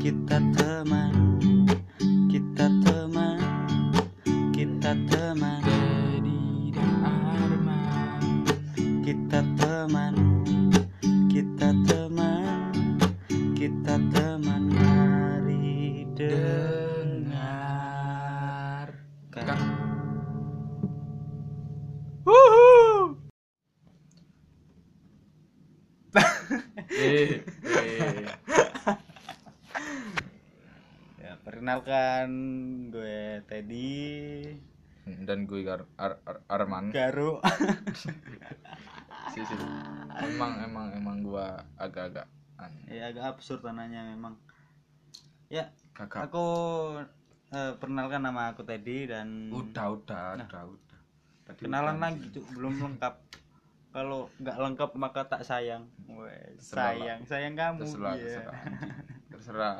Kita teman, kita teman, kita teman. Dedi dan Arman. Kita teman, kita teman, kita teman. Mari Dengarkan. Ya, perkenalkan gue Teddy Dan gue Arman. Garu. sih. Emang gue agak-agak Ya agak absurd tanahnya memang. Ya, kakak. aku perkenalkan nama aku Teddy dan Udah. Tadi kenalan udah, lagi Cuk, belum lengkap. Kalau nggak lengkap maka tak sayang. Terserah. Sayang kamu. Terserah, Iya. terserah.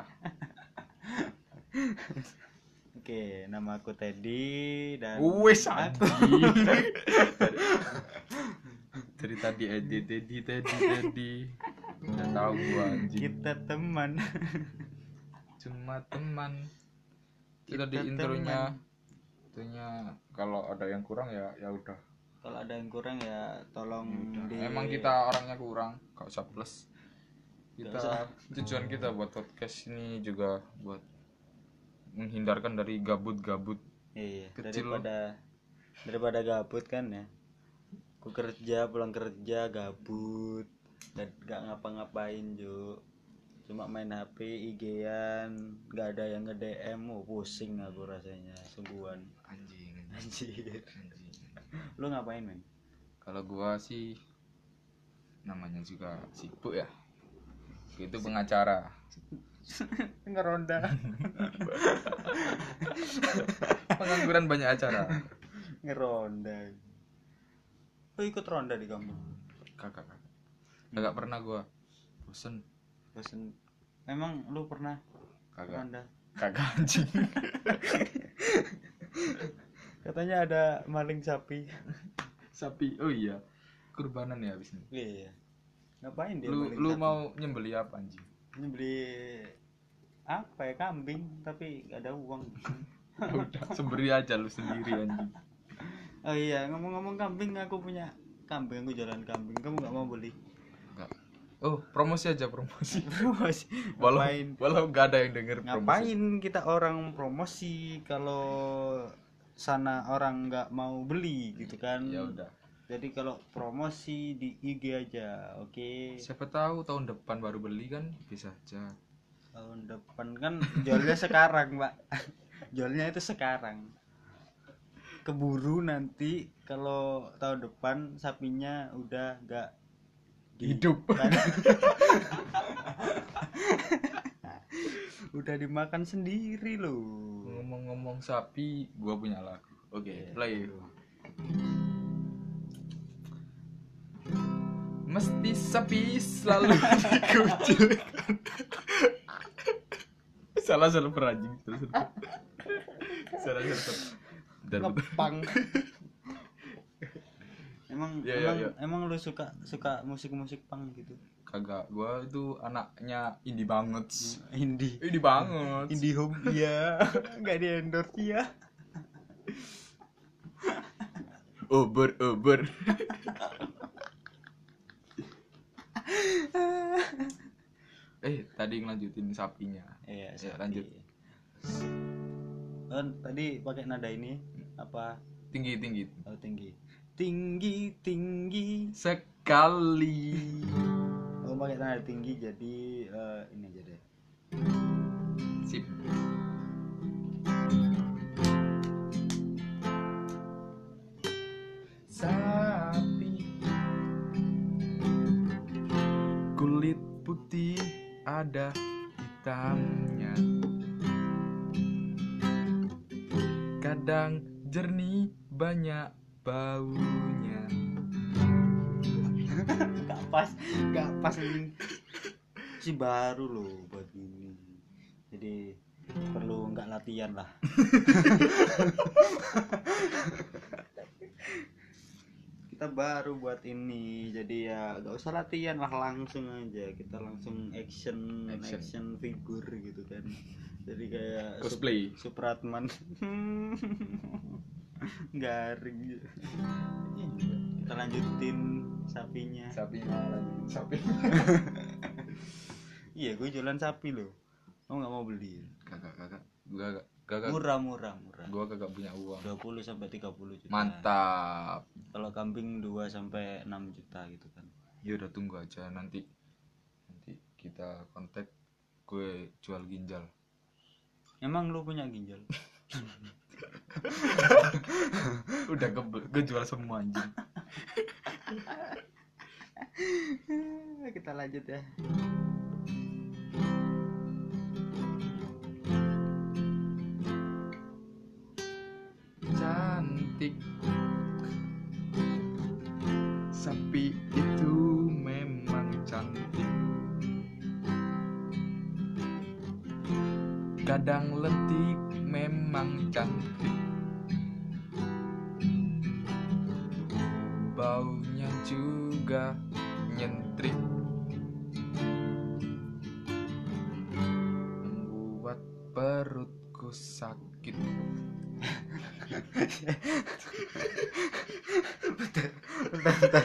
Oke, nama aku Teddy dan Wes aku Dari tadi Teddy. Udah tahu gua anjing. kita teman. Cuma teman. Kita di Kita intronya kalau ada yang kurang ya udah. Kalau ada yang kurang ya tolong Emang kita orangnya kurang, gak usah plus. Nggak usah. Tujuan kita buat podcast ini juga buat menghindarkan dari gabut-gabut. Iya, Kecil. daripada gabut kan ya. Ku kerja, pulang kerja gabut dan gak ngapa-ngapain Juk. Cuma main HP, IG-an, gak ada yang nge-DM, pusing aku rasanya, sungguhan. Anjing. Anjir. Lu ngapain, men? Kalau gua sih namanya juga sibuk ya. Itu pengacara. Ngeronda. Pengangguran banyak acara. Ngeronda. Lu ikut ronda di kampung? Kakak pernah gua. Bosen. Emang lu pernah Kagak. ronda? Kagak anjing. Katanya ada maling sapi. Sapi. Oh iya. Kurbanan ya abis ini. Iya. Ngapain dia Lu maling sapi? mau nyembeli apa anjing? Ini beli apa ya, kambing tapi gak ada uang. Ya udah, semberi aja lu sendiri anjing. Oh iya, ngomong-ngomong kambing, aku punya kambing, aku jualan kambing. Kamu nggak mau beli? Enggak. Oh, promosi aja. Promosi. Walau gak ada yang denger promosi. Ngapain kita orang promosi kalau sana orang nggak mau beli gitu kan? Ya udah. Jadi kalau promosi di IG aja, oke? Siapa tahu tahun depan baru beli kan bisa aja. Tahun depan kan jualnya sekarang, Pak. Jualnya itu sekarang. Keburu nanti kalau tahun depan sapinya udah nggak Hidup. Udah dimakan sendiri loh. Ngomong-ngomong sapi, gua punya lagu. Oke, play. Mesti sapi selalu dikucilkan. Salah beranjing. Salah. Ngepang. Ya. Emang lu suka musik punk gitu? Kagak, gua itu anaknya indie banget. Indie banget. Indie home ya. Enggak di endorse ya. Uber. Tadi ngelanjutin sapinya. Iya, Ya, lanjut. Tadi pakai nada ini apa? Tinggi. Oh, tinggi Sekali. oh pakai nada tinggi, jadi ini aja deh. Sip. Sapi kulit putih ada hitamnya, kadang jernih banyak baunya. Gak pas ini. Si baru loh buat ini. Jadi perlu nggak latihan lah. kita baru buat ini, jadi ya gak usah latihan lah, langsung aja kita langsung action figure gitu kan. Jadi kayak Cosplay. Supratman. Garing gitu. Kita lanjutin sapinya. Sapi. Iya, gue jualan sapi loh. Kamu nggak mau beli? Kagak. Murah. Gua kagak punya uang. 20 sampai 30 juta. Mantap. Kalau kambing 2 sampai 6 juta gitu kan. Ya udah, tunggu aja nanti kita kontak, gue jual ginjal. Emang lu punya ginjal? Udah gue jual semua anjing. Kita lanjut ya. Cantik, sapi itu memang cantik. Kadang lentik, memang cantik. Baunya juga nyentrik, membuat perutku sakit. Bentar.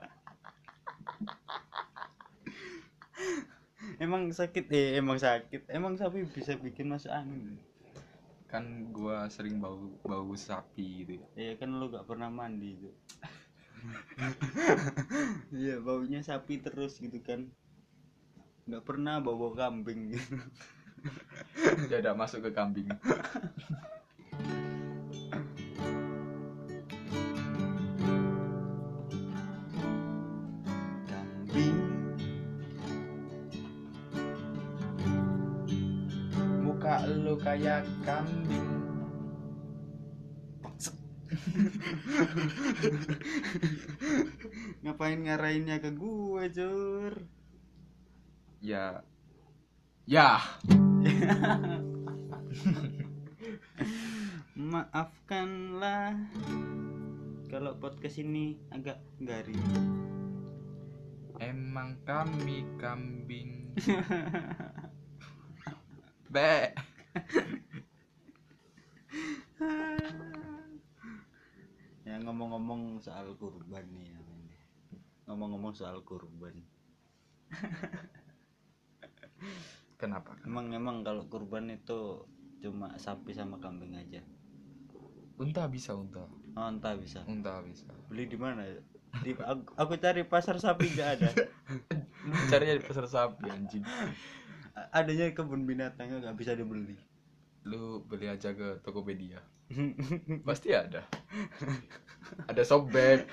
Emang sakit. Emang sapi bisa bikin masuk angin. Kan gua sering bau sapi gitu. Iya kan lu gak pernah mandi tuh. Iya, baunya sapi terus gitu kan. Gak pernah bau kambing gitu. Ya udah, masuk ke kambing. Kambing, Muka lu kayak kambing. ngapain ngarahinnya ke gue, Cur? Ya. Maafkanlah kalau podcast ini agak garing. Emang kami kambing. Be. Ya, ngomong-ngomong soal kurban nih ya. Ngomong-ngomong soal kurban. Kenapa? Emang kalau kurban itu cuma sapi sama kambing aja? Unta bisa, unta. Oh, entah bisa. Unta bisa. Beli di mana ya? Aku cari pasar sapi nggak ada. Carinya di pasar sapi anjing. Adanya di kebun binatang nggak bisa dibeli. Lu beli aja ke Tokopedia. Pasti ada. Ada sobek.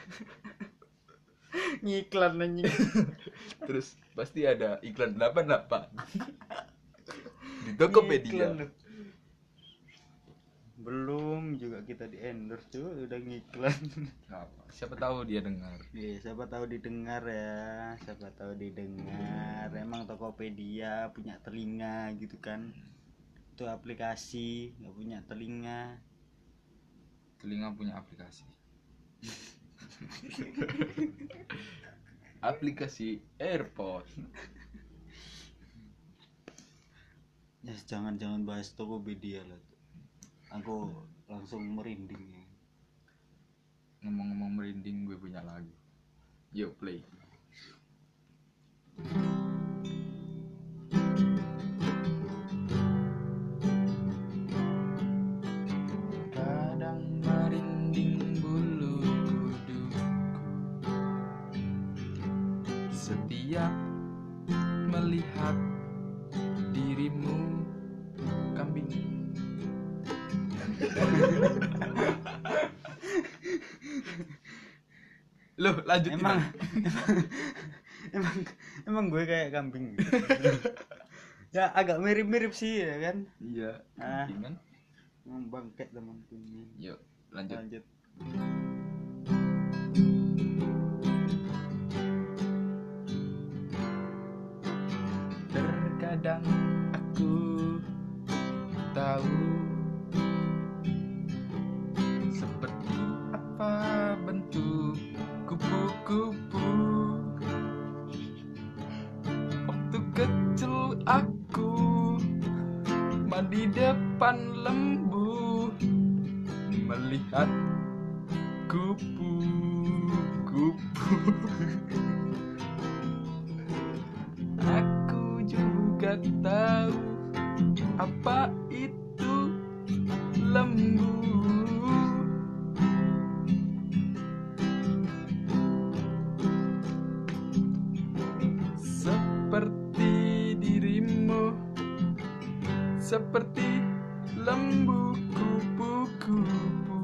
Ngiklan anjing. Terus pasti ada iklan 88 di Tokopedia. Ngiklan. Belum juga kita di endorse tuh udah ngiklan. Apa? Siapa tahu dia dengar. Iya, siapa tahu didengar ya. Siapa tahu didengar. Emang Tokopedia punya telinga gitu kan. Itu aplikasi, nggak punya telinga. Telinga punya aplikasi. Aplikasi AirPod. Ya, jangan bahas Tokopedia lah. Aku langsung merinding ya. Ngomong-ngomong merinding, gue punya lagu. Yuk play. Kadang merinding bulu kuduku setiap melihat dirimu, kambing. Loh, lanjutin. Emang gue kayak kambing gitu. Ya agak mirip-mirip sih ya kan. Iya. Kan? Bangke temanku ini. Yuk, lanjut. Terkadang aku tahu seperti apa bentuk di depan lembu melihat kupu-kupu. Aku juga tahu apa itu lembu. Seperti dirimu, seperti lembu kupu-kupu.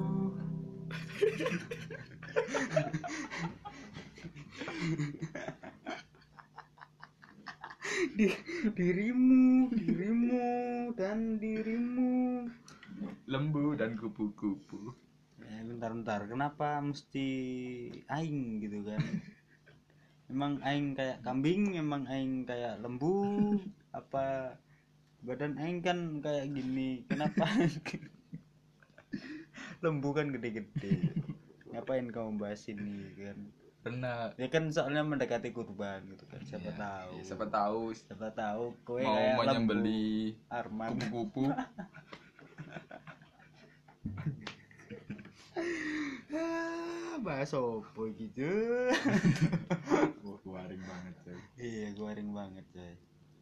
Dirimu dan dirimu. Lembu dan kupu-kupu. Bentar, kenapa mesti aing gitu kan? Emang aing kayak kambing, emang aing kayak lembu, apa badan aing kan kayak gini, kenapa? Lembu kan gede-gede, ngapain kamu bahas ini kan? Karena Ya kan soalnya mendekati kurban gitu kan, siapa tahu kowe mau kayak lembu menyembeli Arman. kupu-kupu. Bahas opo gitu. Garing banget coy. Iya, garing banget coy.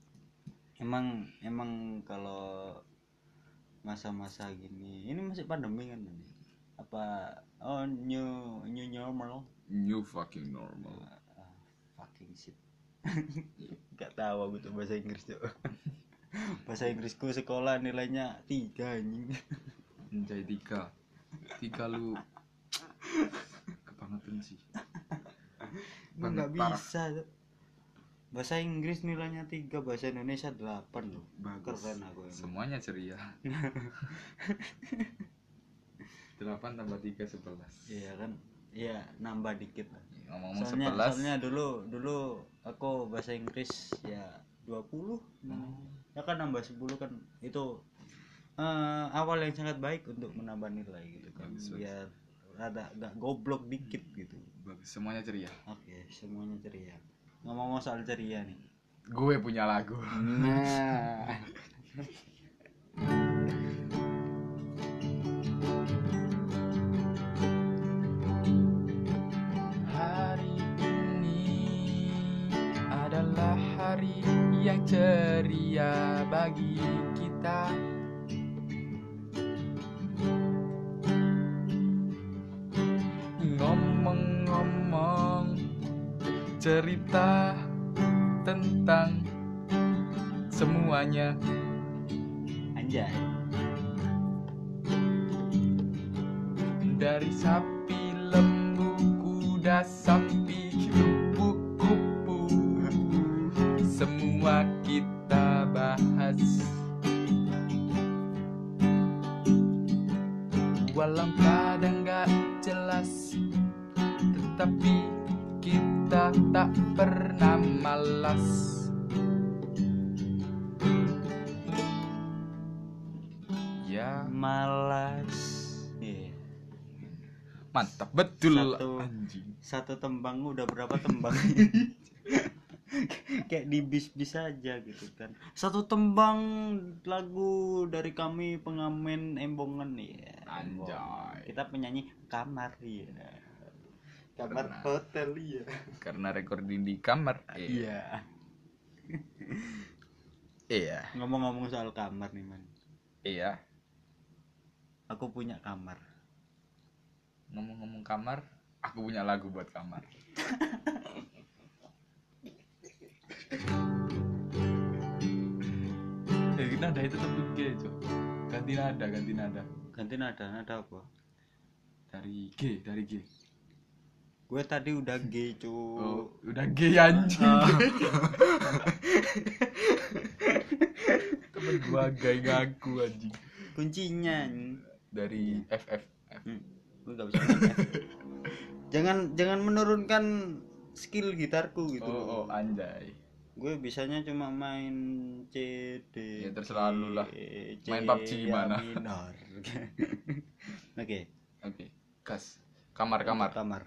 Emang kalau masa-masa gini, ini masih pandemi kan ini? Apa new normal? New fucking normal. Fucking shit. Gak tahu aku tuh bahasa Inggris tuh. Bahasa Inggrisku sekolah nilainya 3 anjing. Anjay 3 lu kebangetan sih. Nggak bisa tuh. Bahasa Inggris nilainya 3, bahasa Indonesia 8 loh. Bagus. Keren aku ini. Semuanya ceria. 8 tambah 3 11. Iya kan? Iya, nambah dikit lah. Ngomong-ngomong Soalnya dulu aku bahasa Inggris ya 20. Ya kan nambah 10 kan itu awal yang sangat baik untuk menambah nilai gitu kan. Bagus. Biar rada gak goblok dikit gitu. Bagus, semuanya ceria. Oke, semuanya ceria. Ngomong soal ceria nih. Gue punya lagu. Nah. Hari ini adalah hari yang ceria bagi kita. Ngomong-ngomong cerita tentang semuanya. Anjay. Dari sapi, lembu, kuda, sapi, kupu-kupu, semua kita bahas. Walau kadang gak jelas, tetapi kita tak pernah malas. Ya, Malas. Iya. mantap betul Satu- anjing. Satu tembang udah berapa tembang? Kayak di bis-bis aja gitu kan. Satu tembang lagu dari kami pengamen Embongan ya. Anjay. Kita penyanyi kamar ya. Kamar Pernah. hotel ya. Karena recording di kamar. Iya. Iya. Ngomong-ngomong soal kamar nih man. Iya. Aku punya kamar. Ngomong-ngomong kamar, aku punya lagu buat kamar. Nada itu tetep G, Cok. Ganti nada. Ganti nada apa? Dari G. Gue tadi udah G cu. Oh, udah G anjing. Temen gua gay ngaku anjing. Kuncinya. Dari FF. Gue gak bisa main. Jangan menurunkan skill gitarku gitu. Oh, anjay. Gue bisanya cuma main C D. Ya, terserah lu lah. C, Main PUBG gimana? minor. Oke. Gas. Kamar. Kamar.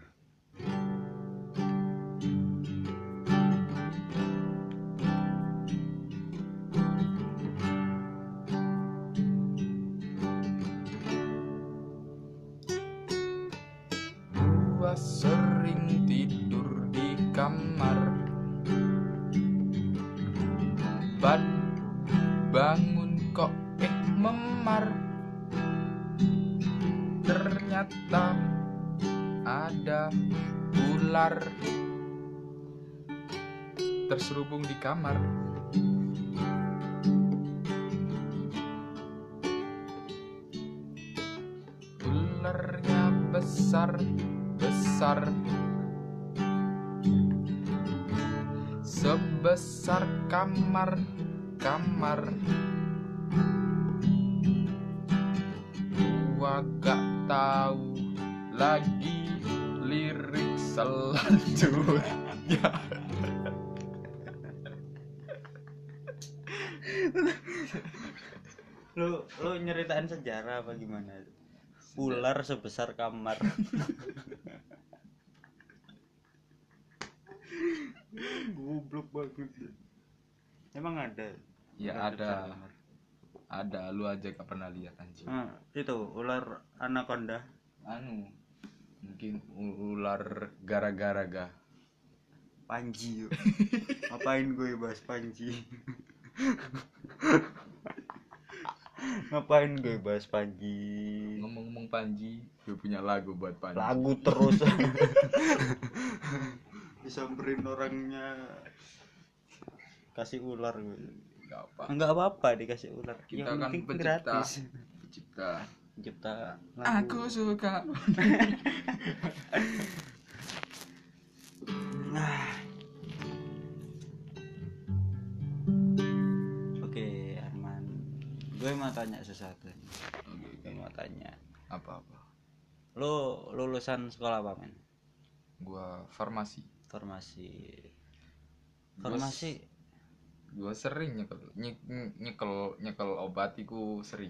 Bangun kok memar, ternyata ada ular terselubung di kamar. Ularnya besar sebesar kamar. Gua gak tahu lagi lirik selanjutnya. Lu nyeritain sejarah apa gimana? Ular sebesar kamar. Goblok banget. Emang ada? Ya Ular ada. sebesar kamar? Ada, lu aja gak pernah lihat anjing. Itu ular anaconda. Mungkin ular gara-gara. Panji yuk. Ngapain gue bahas Panji? Ngapain gue bahas Panji? Ngomong-ngomong Panji, gue punya lagu buat Panji. Lagu terus. Disamperin orangnya, kasih ular gue. Enggak apa-apa dikasih ular. Kita yang kan penting pencipta. gratis. Pencipta lagu. Aku suka. Oke, Arman. Gue mau tanya sesuatu. Oke. Mau tanya. Apa-apa? Lo lulusan sekolah apa, men? Gua farmasi. Gua sering nyekel obat iku sering.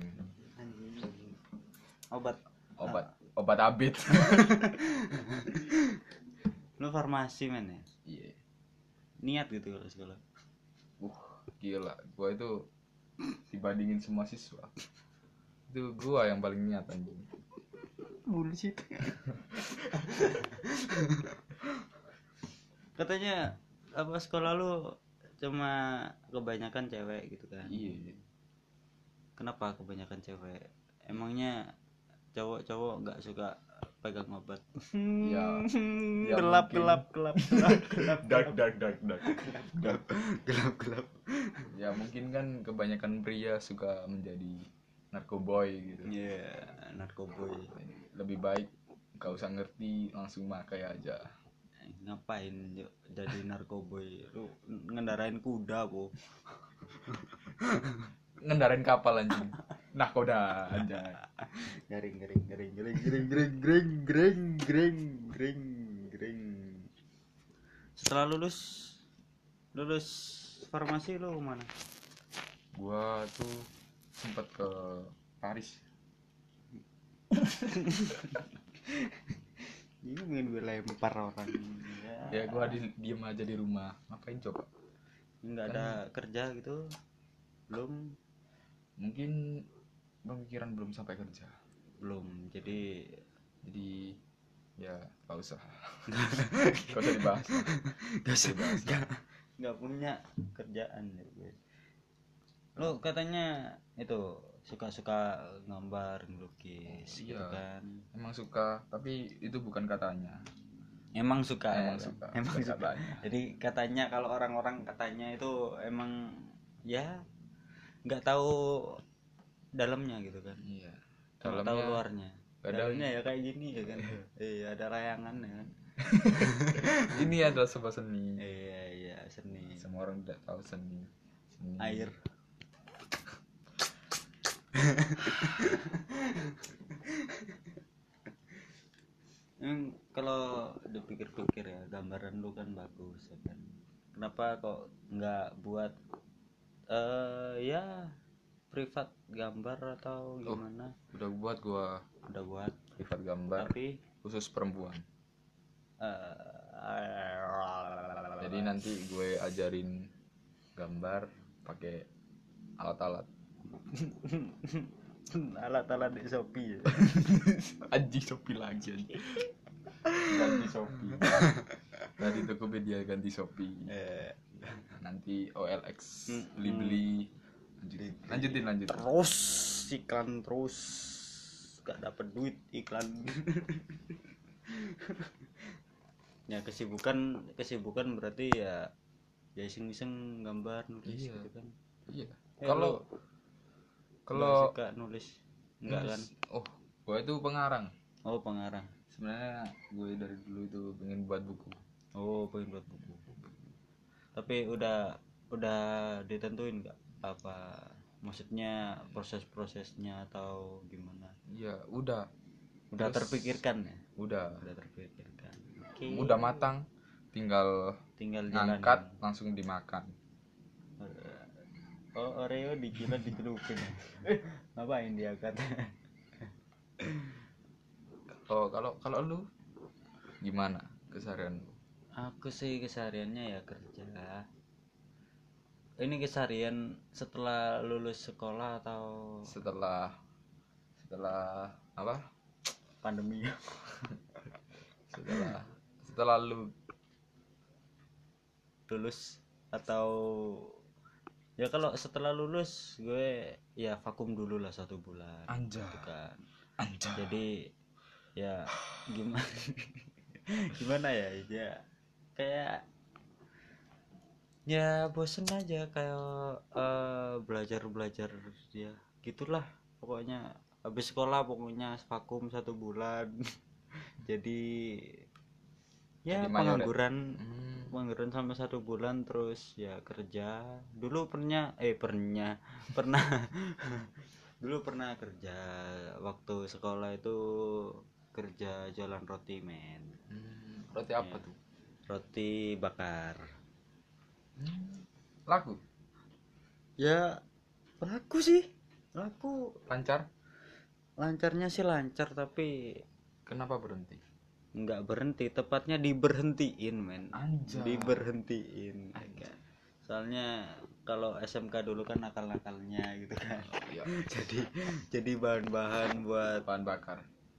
Obat abit. Lo farmasi, men ya? Iya. Niat gitu kalau sekolah. Gila, gua itu dibandingin semua siswa. Itu gua yang paling niat anjing. Bullshit. Katanya apa sekolah lu cuma kebanyakan cewek gitu kan? Iya. Kenapa kebanyakan cewek? Emangnya cowok-cowok nggak suka pegang obat? Ya Gelap. Ya mungkin kan kebanyakan pria suka menjadi narkoboy gitu. Iya, narkoboy. Lebih baik gak usah ngerti, langsung pakai aja. Ngapain yuk jadi narkoboy? Lu ngendarain kuda, Bu. Ngendarain kapal anjing. Nahkoda aja. Garing. Setelah lulus farmasi lu mana? Gua tuh sempat ke Paris. Ini pengen gue lempar orang. Ya gua diem aja di rumah. Ngapain coba? Nggak ada kerja gitu. Belum. Mungkin pemikiran belum sampai kerja. Belum. Jadi ya gak usah. Gak usah dibahas. Nggak punya kerjaan ya gue. Lo katanya itu suka gambar, ngelukis gitu kan? Emang suka, tapi itu bukan katanya. Emang suka. Katanya. Jadi katanya kalau orang-orang katanya itu emang ya nggak tahu dalamnya gitu kan? Iya. Dalamnya tahu luarnya. Dalamnya ya kayak gini ya kan? Iya, ada layangan ya kan? Ini adalah sebuah seni. Iya, seni. Semua orang tidak tahu seni. Air. Kalau dipikir-pikir ya, gambaran lu kan bagus ya kan. Kenapa kok nggak buat ya privat gambar atau gimana? Udah buat privat gambar, tapi khusus perempuan. Jadi nanti gue ajarin gambar pakai alat-alat. Alat-alat di Shopee ya. Anjing Shopee lagi anjing. Ganti Shopee. Tadi Tokopedia ganti Shopee. Nanti OLX beli lanjutin. terus iklan terus gak dapet duit iklan. Ya kesibukan berarti ya iseng-iseng gambar nulis Iya. gitu kan. Iya. Kalau Kalau suka nulis enggak kan? Oh, gue itu pengarang. Oh, pengarang. Sebenarnya gue dari dulu itu pengen buat buku. Oh, pengen buat buku. Tapi udah ditentuin nggak apa maksudnya prosesnya atau gimana? Iya, udah Terpikirkan ya? Udah Terpikirkan. Oke. udah matang, tinggal ngangkat jalanin. langsung dimakan. Oh, Oreo dikira dicelupin. Ngapain diangkat? Kalau lu gimana keseharian lu? Aku sih kesehariannya ya kerja. Ini keseharian setelah lulus sekolah atau Setelah apa? pandemi? Setelah lu Lulus atau ya kalau setelah lulus gue ya vakum dulu lah 1 bulan. Anjay. Gitu kan. Anjay. Jadi ya gimana gimana ya kayak ya bosen aja kayak belajar ya gitulah pokoknya habis sekolah pokoknya vakum 1 bulan. Jadi ya pengangguran sampai 1 bulan terus ya kerja dulu pernah dulu pernah kerja waktu sekolah itu kerja jualan roti men. Roti apa tuh? Roti bakar. Laku? Ya laku sih, lancarnya sih lancar tapi kenapa berhenti? nggak berhenti, tepatnya diberhentiin men. Anjay. Diberhentiin kan. Soalnya kalau SMK dulu kan nakal-nakalnya gitu kan. Iya. jadi bahan-bahan buat bahan bakar.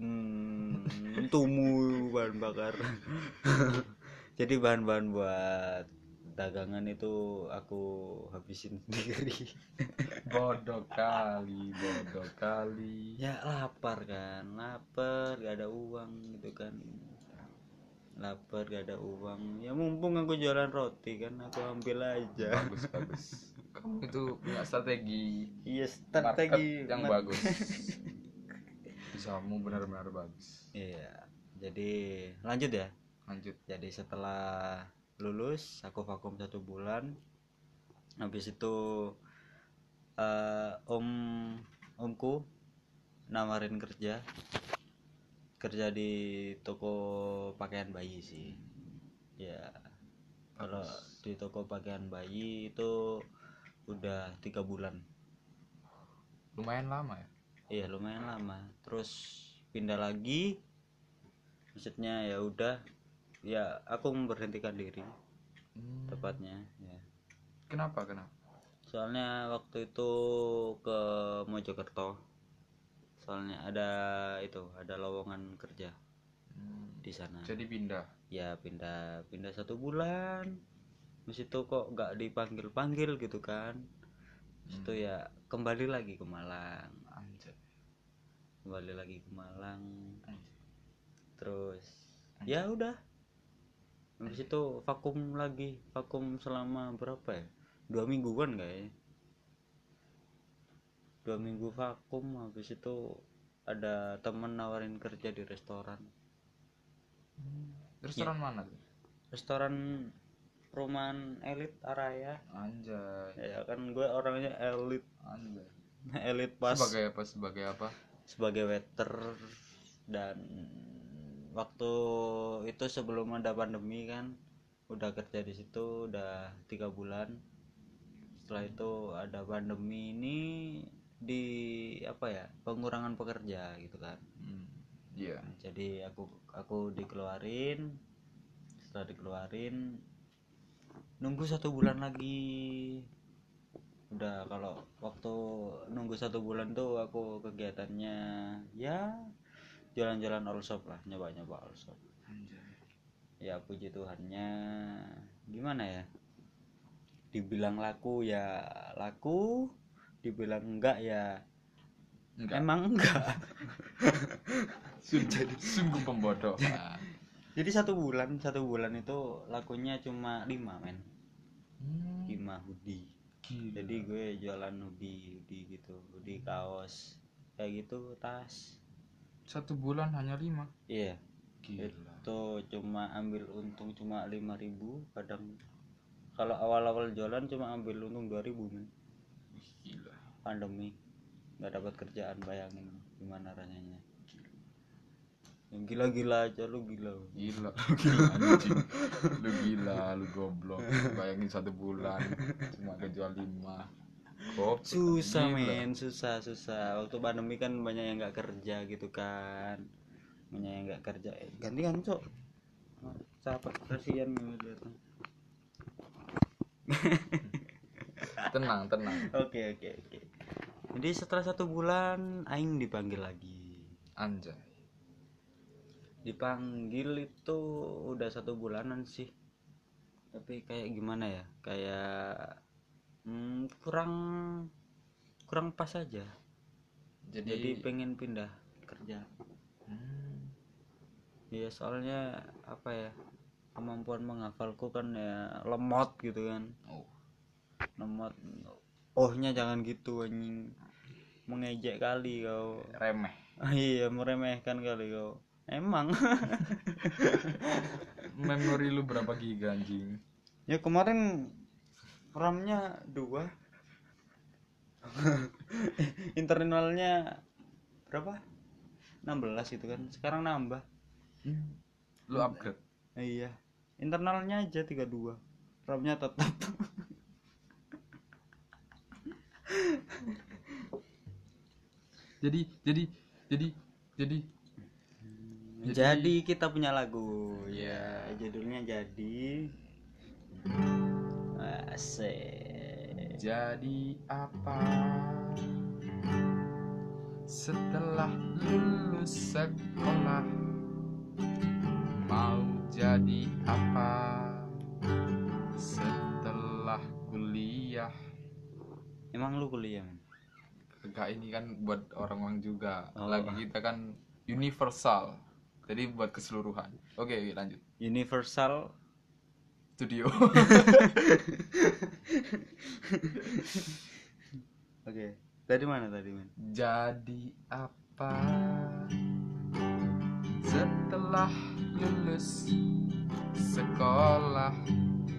Tumu bahan bakar. Jadi bahan-bahan buat dagangan itu aku habisin sendiri. Bodoh kali. Ya lapar gak ada uang gitu kan. Lapar gak ada uang ya mumpung aku jualan roti kan aku ambil aja. Bagus. Kamu itu punya strategi. Iya, strategi market yang bagus. Bisamu benar-benar bagus. Iya, jadi lanjut. Jadi setelah lulus aku vakum 1 bulan. Habis itu omku nawarin kerja di toko pakaian bayi sih. Ya kalau di toko pakaian bayi itu udah 3 bulan. Lumayan lama ya? Iya lumayan lama. Terus pindah lagi, maksudnya ya udah ya aku memberhentikan diri. Tepatnya ya. Kenapa? Soalnya waktu itu ke Mojokerto. Soalnya ada lowongan kerja di sana. Jadi pindah. Ya pindah 1 bulan. Habis itu kok nggak dipanggil gitu kan. Habis itu ya kembali lagi ke Malang. Terus ya udah. Habis itu vakum selama berapa ya? 2 mingguan kayaknya. 2 minggu vakum. Habis itu ada temen nawarin kerja di restoran. Restoran mana tuh? Restoran perumahan elit Araya. Anjay. Ya kan gue orangnya elit. Anjay. Elit pas. Sebagai apa? Sebagai waiter. Dan waktu itu sebelum ada pandemi kan udah kerja di situ udah 3 bulan. Setelah itu ada pandemi ini di pengurangan pekerja gitu kan. Iya. Jadi aku dikeluarin. Setelah dikeluarin nunggu 1 bulan lagi. Udah kalau waktu nunggu 1 bulan tuh aku kegiatannya ya jalan-jalan all shop lah, nyoba all shop. Ya puji Tuhannya gimana ya, dibilang laku ya laku, dibilang enggak ya Enggak. emang enggak. Sungguh pembodohan. Jadi satu bulan itu lakunya cuma 5 men. 5 hoodie. Gila. Jadi gue jualan hoodie gitu, hoodie kaos kayak gitu, tas. 1 bulan hanya 5. Iya. Gila. Itu cuma ambil untung cuma 5.000 kadang. Kalau awal-awal jualan cuma ambil untung 2.000 men. Gila. Pandemi nggak dapat kerjaan, bayangin gimana rasanya. Yang gila-gila aja lu gila Anjing. Lu gila, lu goblok. Bayangin 1 bulan cuma kejual 5. Susah gila. men, susah. Waktu pandemi kan banyak yang nggak kerja gitu kan, banyak yang nggak kerja. Gantian cok, capek kasihan gitu. Tenang. Oke. Jadi setelah 1 bulan aing dipanggil lagi. Anjay. Dipanggil itu udah 1 bulanan sih, tapi kayak gimana ya, kayak kurang pas aja. Jadi pengen pindah kerja. Ya soalnya apa ya, kemampuan menghafalku kan ya lemot gitu kan. Lemot. Ohnya jangan gitu anjing, mengejek kali kau. Remeh. Iya, meremehkan kali kau emang. Memori lu berapa giga anjing? Ya kemarin RAM-nya 2. Internalnya berapa? 16 itu kan. Sekarang nambah. Lu upgrade. Iya. Internalnya aja 32. RAM-nya tetap. Jadi kita punya lagu. Ya, judulnya Jadi. Asik. Jadi apa setelah lulus sekolah? Mau jadi apa setelah kuliah? Emang lu kuliah men? Enggak, ini kan buat orang-orang juga. Oh. Lagi kita kan universal, jadi buat keseluruhan. Oke, lanjut. Universal Studio. Oke. Dari mana tadi men? Jadi apa setelah lulus sekolah?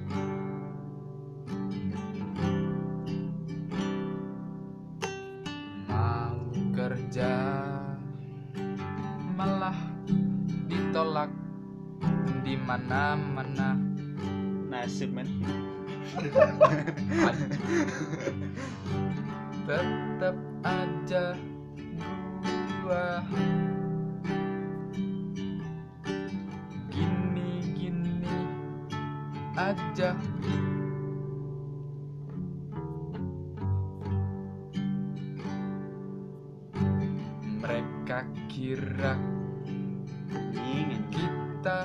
Mau kerja malah ditolak di mana-mana. Nasib men. Tetap aja gua gini aja. Mereka kira kita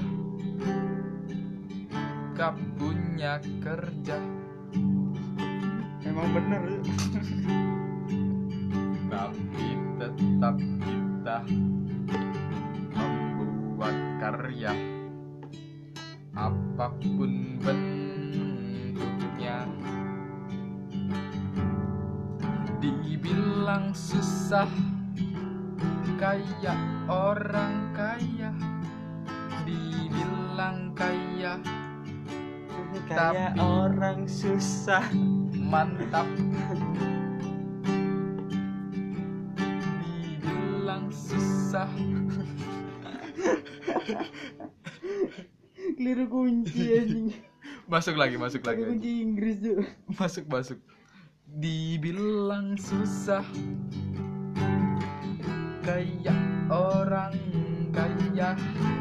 gak punya kerja. Emang bener. Tapi tetap kita membuat karya, apapun bentuknya. Dibilang susah kayak orang kaya, dibilang kaya kayak tapi orang susah. mantap. Dibilang susah. Keliru kunci anjing. Masuk lagi. Kunci Inggris tuh. Masuk. Dibilang susah kayak orang kaya,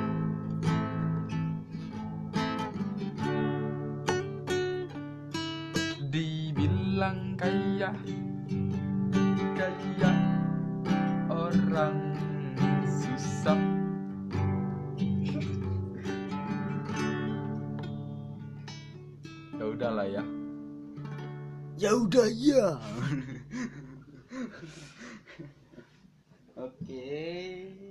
dibilang kaya orang susah. Ya udahlah ya. Ya udah ya. Oke.